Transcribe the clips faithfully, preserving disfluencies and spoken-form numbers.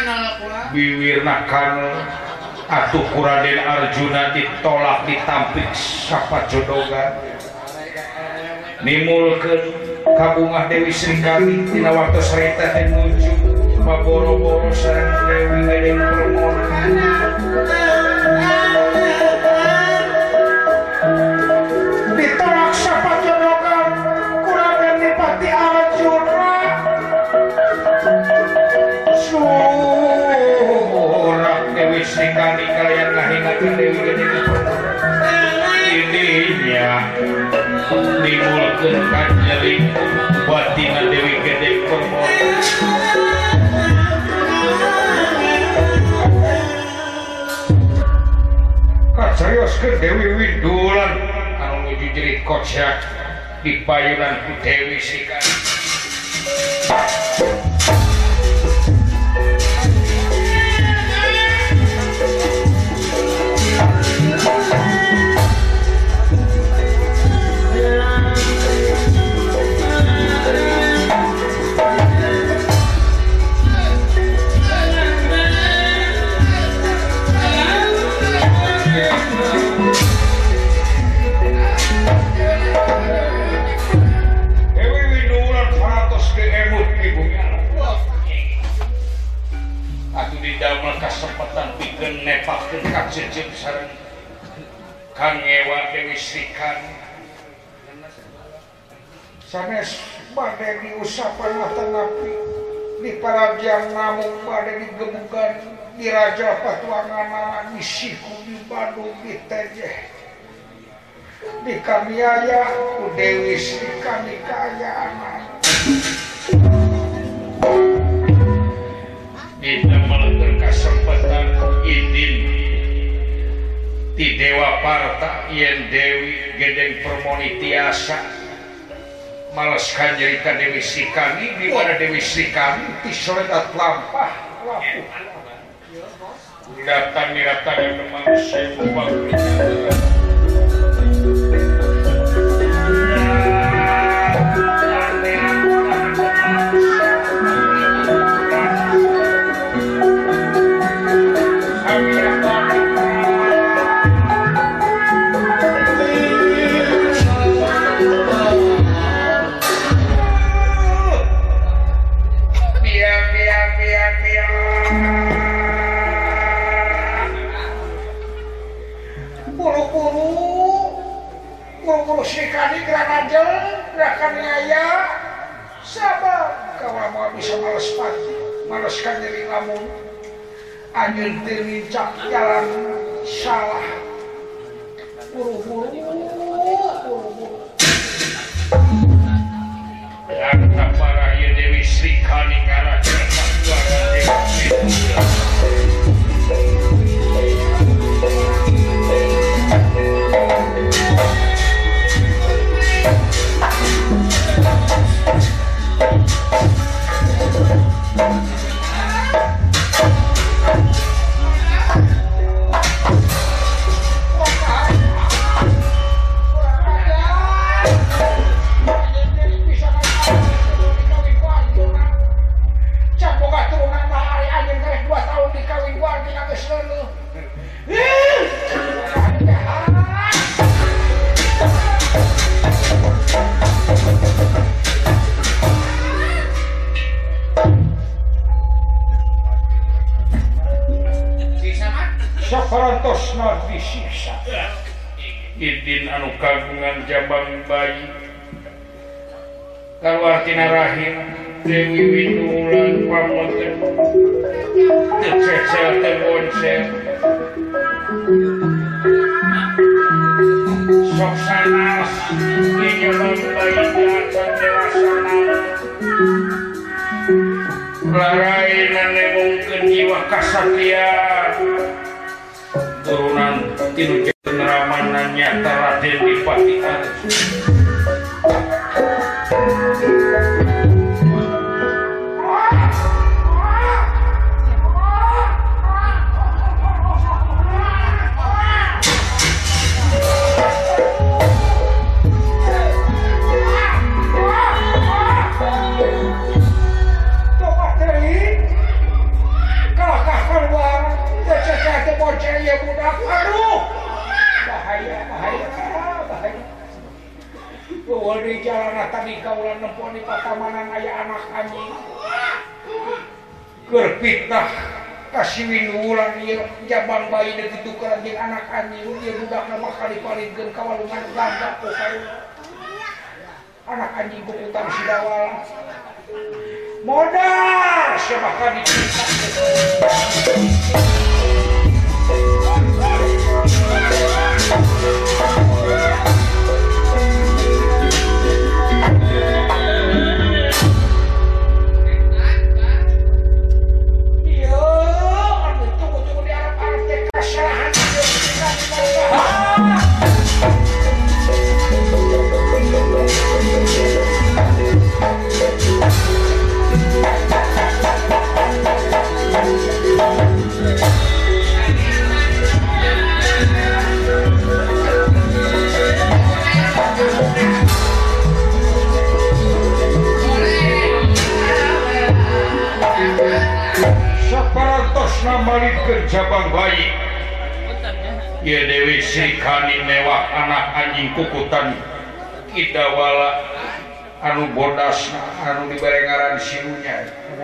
biwirna kanel atuh ku Raden Arjuna ditolak ditampik sapajodogan nimulkeun kabungah Dewi Srikandi dina waktos harita teh nuju baboro-boro sareng Dewi Gedeng Permona ditolak sapajodogan ku Raden Dipati Arjuna surak Dewi Srikandi kalian ngahinakeun Dewi Gedeng Permona ininya nimulkeun kanjering batina Dewi Gedeng Permona kacarioskeun Dewi Windulan anu nuju jerit kocak di payunan ku Dewi Srikandi kesempatan pikeun nepakeun ka jejeun sareng Kang Ewa Dewi Srikandi sanes bade diusapan matanapi di Parajian namung bade digemugan di Raja Patuangan di Siku di Bandung di Tejeh di Kamiaya ku Dewi Srikandi kaayaan didamelkeun kasempatan idin ti Dewa Parta yen Dewi Gedeng Permoni tiasa males kanjeri ka Dewi Srikandi di mana Dewi Srikandi ti soredat lampah lapuh datang datang yang manusia ubah Srikandi Granajel gerakan nyaya sabar kawa mau bisa males pati males kanjeri lamun anjeun teu lincak jalan salah buru-buru buru-buru yang para ieu Dewi Srikandi ngarajan keluarga Dewi saparantosna disiksa idin anu kagungan jambang bayi kaluartina rahim Dewi Windulan pamoten teu cecel teu bonsel sok sanas nyambang bayi jangan dewasa laraina nemungkeun jiwa kasatria turunan tinu ceneraman nyata Raden Dipati Arjuna kali kaulan nempuan di patamanan aya anak anjing keur fitnah kasih winulan ieu jabang bayi deuk ditukeran jeung anak anjing ieu budakna mah kali palingkeun kawalungan ganda pokoknya anak anjing bukutan sidawala modal siapa kan dicinta Malikeun jabang bayi ieu Dewi Srikani mewah anak anjing kukutan Idawala anu bodasna anu dibarengaran sinunya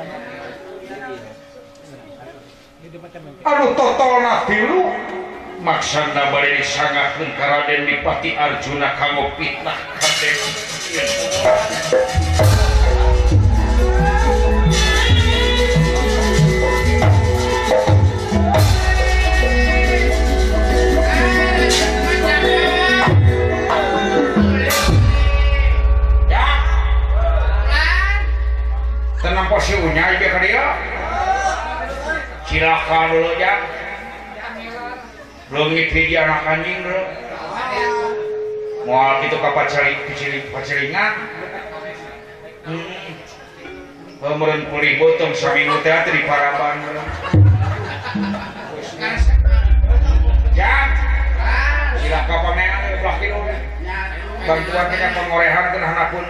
anu totolna tilu maksana bari disangakeun ka Raden Dipati Arjuna kanggo fitnah ka Dewi si unyai ke dia silakan dulu ya belum ngipidi anak anjing dulu mau itu ke pacaringan pemerin pulih botong seminggu teater di Paraban ya silakan pameran belakang bantuan kita pengorehan ke anak pun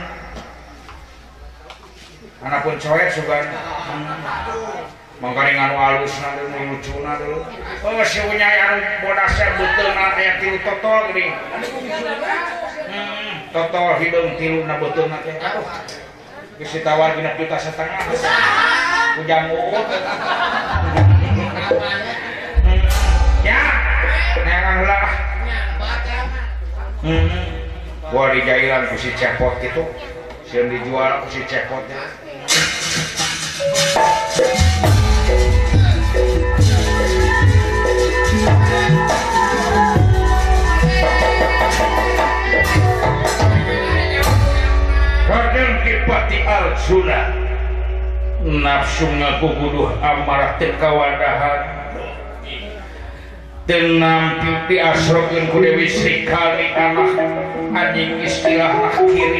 anak pun coet sugan mangkaring anu alusna dulu lucuna dulu oh si unyai anu bodasnya beuteuna aya tilu totol geuning hmm totol hidung tilu na beuteuna teh aduh geus ditawar genep juta setengah ujang uut ya neangan heula hmm gua dijailan ku si cepot itu sieun dijual ku si cepot teh Raden Dipati Arjuna nafsu ngaguguduh amarah teu kawadahan teu nampi diasrokeun ku Dewi Srikani anak anjing istilahna kiri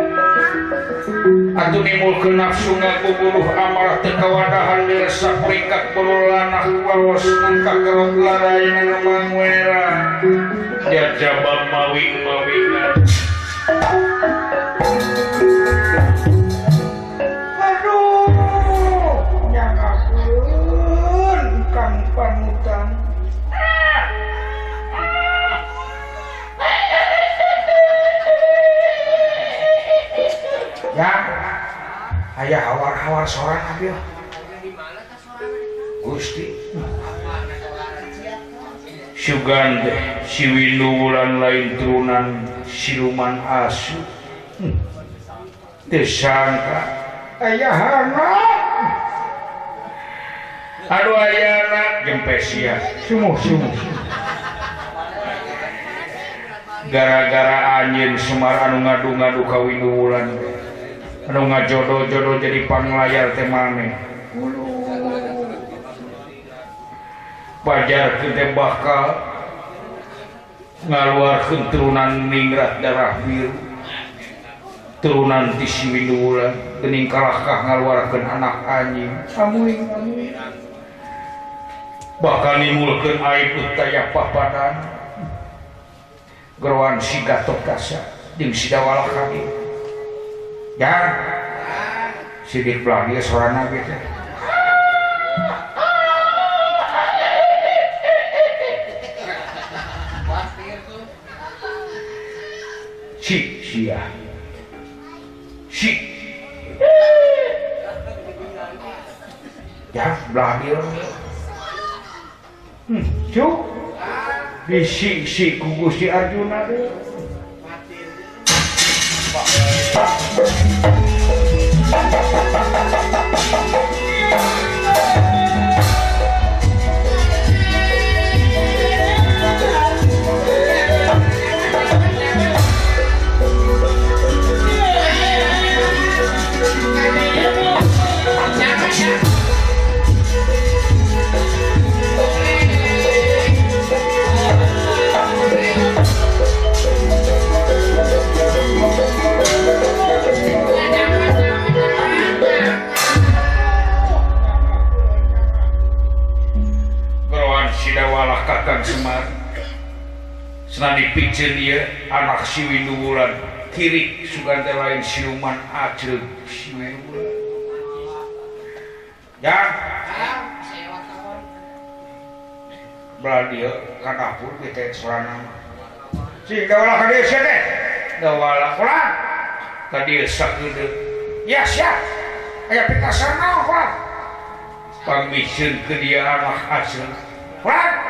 atuh nimulkeun nafsu ngaguguduh amarah teu kawadahan dirasa peringkat bululanah lawas nangka kerot larayeuna mangwera jajabang mawi-mawingan aduh nyangkakeun kang panutan ya aya hawar-hawar soran abi Gusti Sugan si Windu Wulan lain turunan siluman asu teu sangka aya anak aduh aya anak jempesia sumuh-sumuh gara-gara anjeun Semar anu ngadu-ngadu ka Windu Wulan anu ngajodoh-jodoh jadi panglayar teh maneh pajar teh bakal ngaluarkeun turunan ningrat darah biru turunan ti si Windu Wulan geuning kalahkah ngaluarkeun anak anjing amuing amuing bakal nimulkeun aib taya papadan geroan si Gatotkaca jeung si Dawala kami ya sidik belah dia sorana ge teh si sia ya belah dia hmm cuk bisi-si ku Gusti Arjuna deh Kakang Semar senang dipicen dia anak si Winduwulan kiri sugante lain siluman ajel si Winduwulan ya berarti ka dapur kita sorana si dawala ka dieu teh dawala ulah ka dieu sageudeuh ya siap aya pitasan naon ulah pamikeun ke dia anak ajel ulah